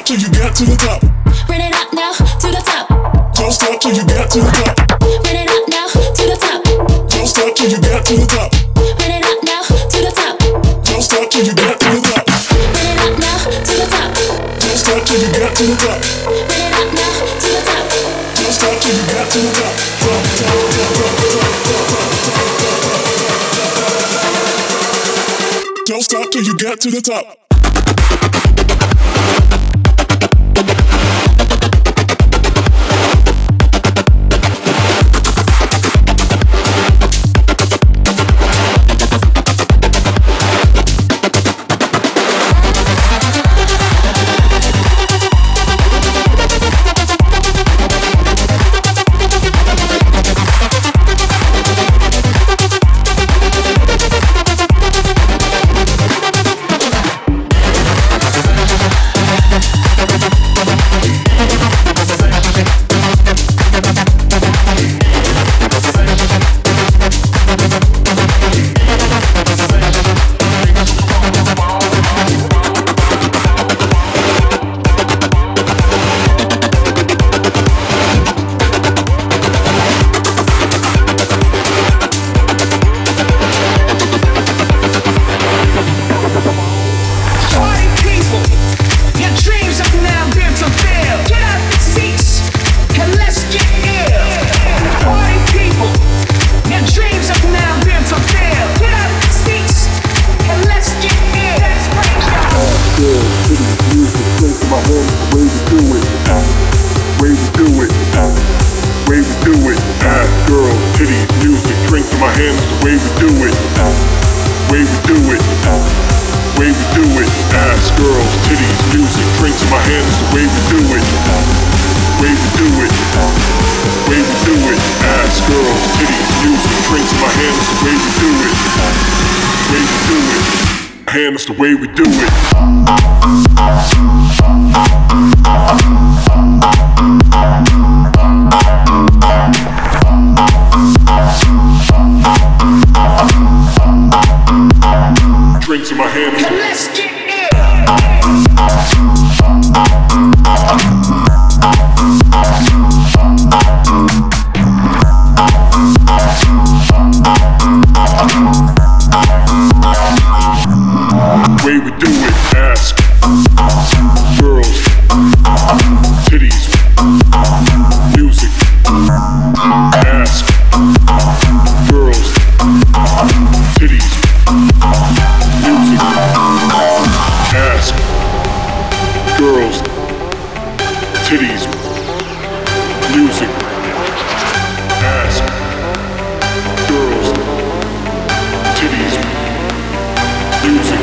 stop till you get to the top. Bring it up now to the top. Don't stop till you get to the top. Bring it up now to the top. Don't stop till you get to the top. Bring it up now to the top. Don't stop till you get to the top. Bring it up now to the top. Don't stop till you get to the top. Bring it up now to the top. Don't stop till you get to the top. Don't stop till you get to the top. That's the way we do it. Drinks in my hands. Let's get way we do it, ask girls, titties, music, ask girls, titties, music, ask girls, titties, music, ask girls, titties, music.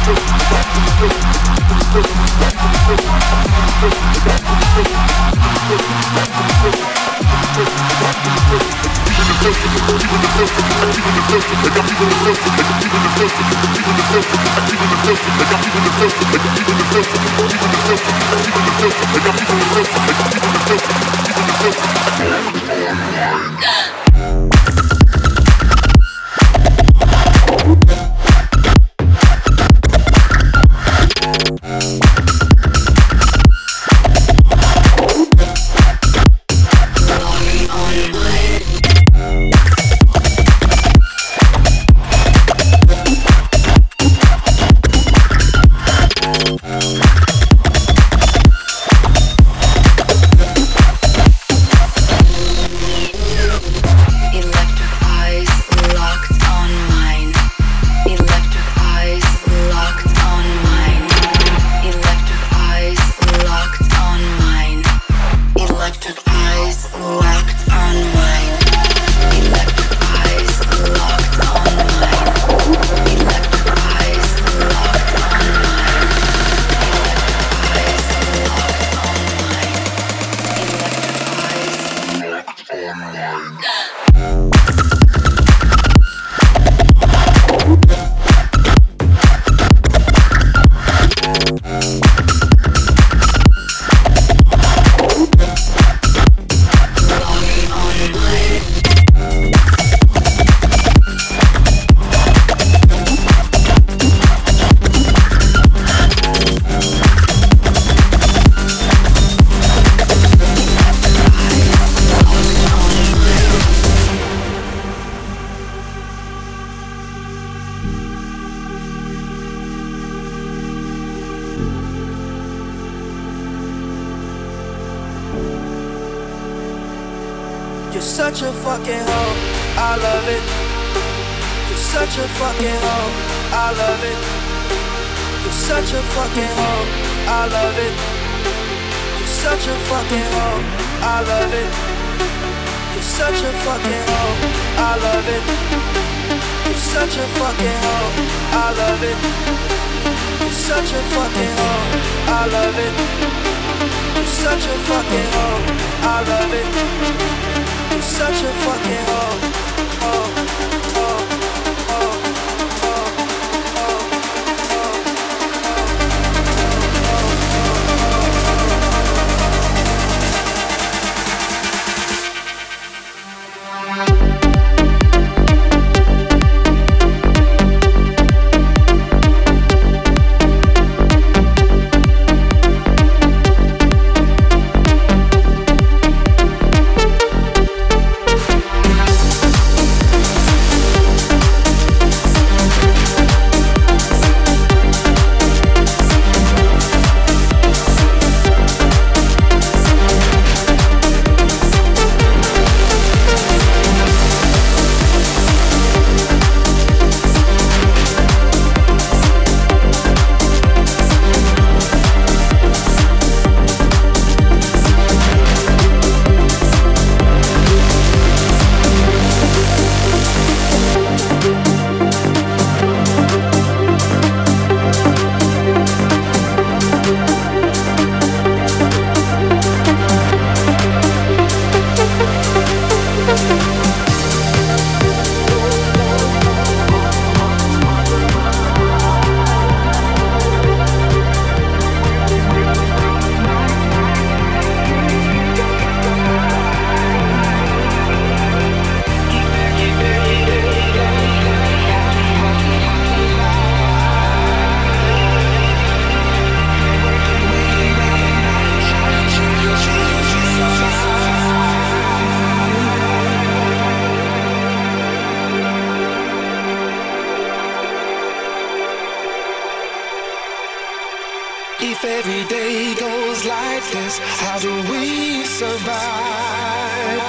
You're such a fucking hoe, I love it. You're such a fucking hoe, I love it. You're such a fucking hoe, I love it. You're such a fucking hoe, I love it. You're such a fucking hoe, I love it. You're such a fucking hoe, I love it. You're such a fucking hoe, I love it. You're such a fucking hoe, I love it. You're such a fucking hoe, hoe, hoe, hoe, hoe, If every day goes like this, how do we survive?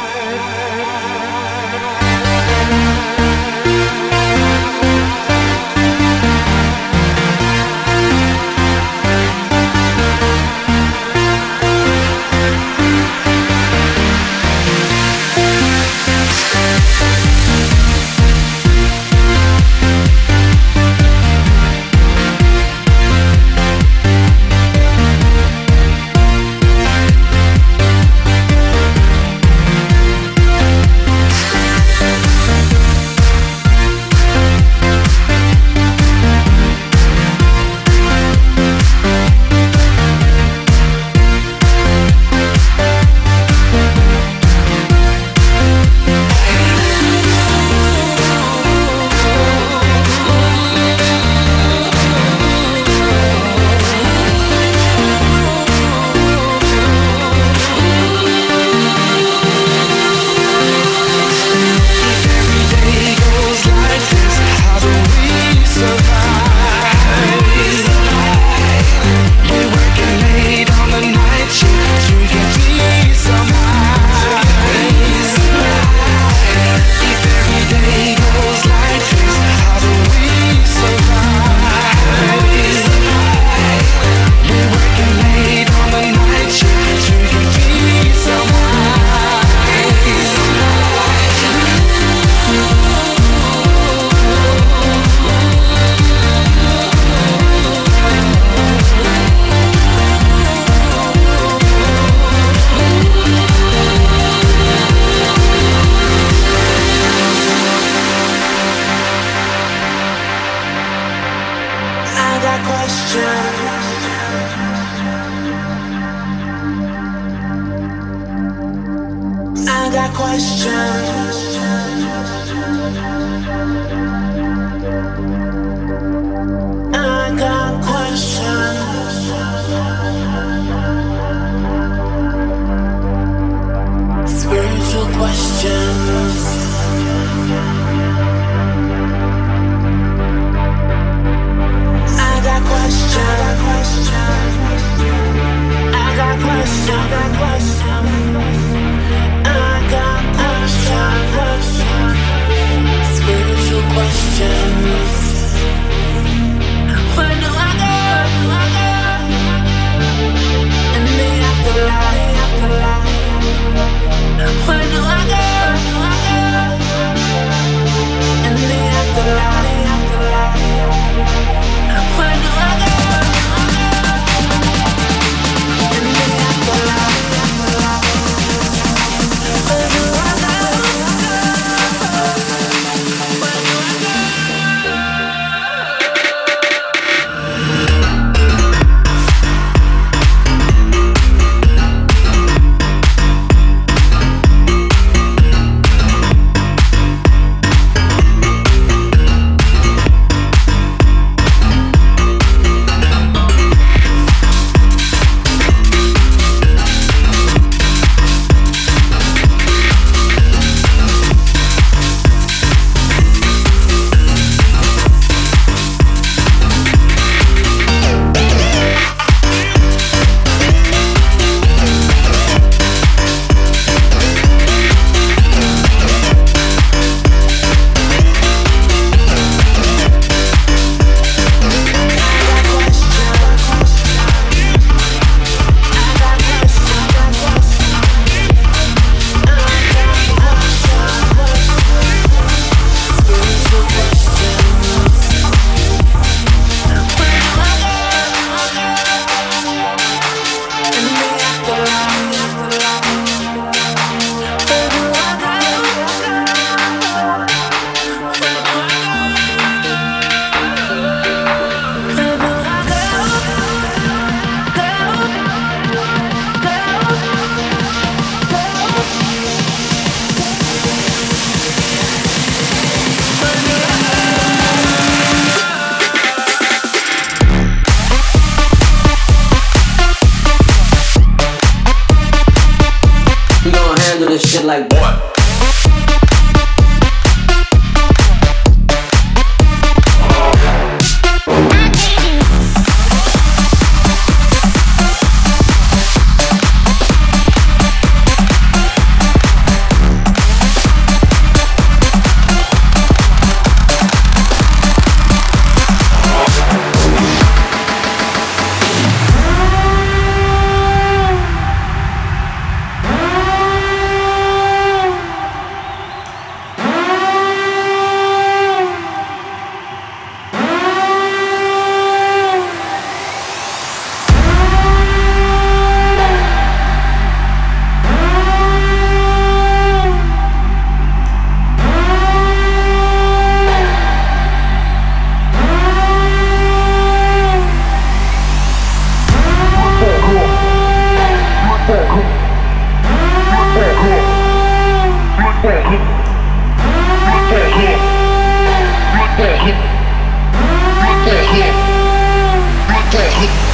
got questions. I got questions. Spiritual questions. I got questions. I got questions. I got questions. Spiritual questions. Where do I go? In the afterlife. Where do I go? In the afterlife. Where do I go? In the afterlife. Where do I go? Where do I go? Shit like what? Hit.